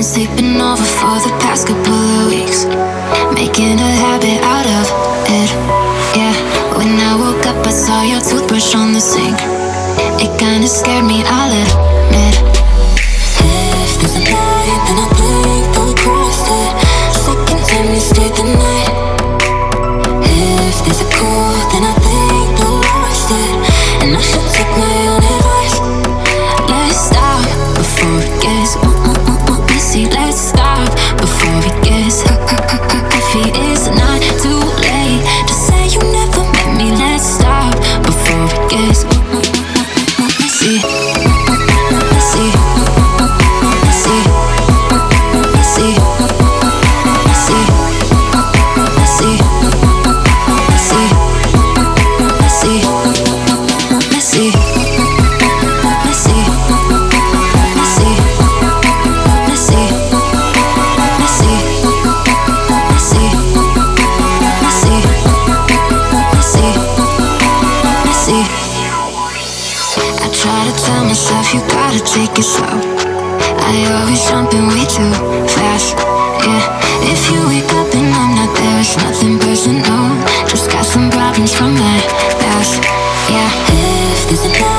sleeping over for the past couple of weeks, making a habit out of it. Yeah, when I woke up I saw your toothbrush on the sink. It kinda scared me, I'll admit. If there's a light, then I think that we crossed it. Second time you stayed the night. If there's a cool, then I think that we lost it. And I should take my own advice. Let's stop before it gets messy. Let's stop before it gets coffee. It's not too late to say you never met me. Let's stop before it gets messy. Messy. Messy. Messy. Messy. Messy. Messy. Messy. Messy. Tell myself you gotta take it slow. I always jumping way too fast. Yeah, if you wake up and I'm not there, it's nothing personal. Just got some problems from my past. Yeah, if there's a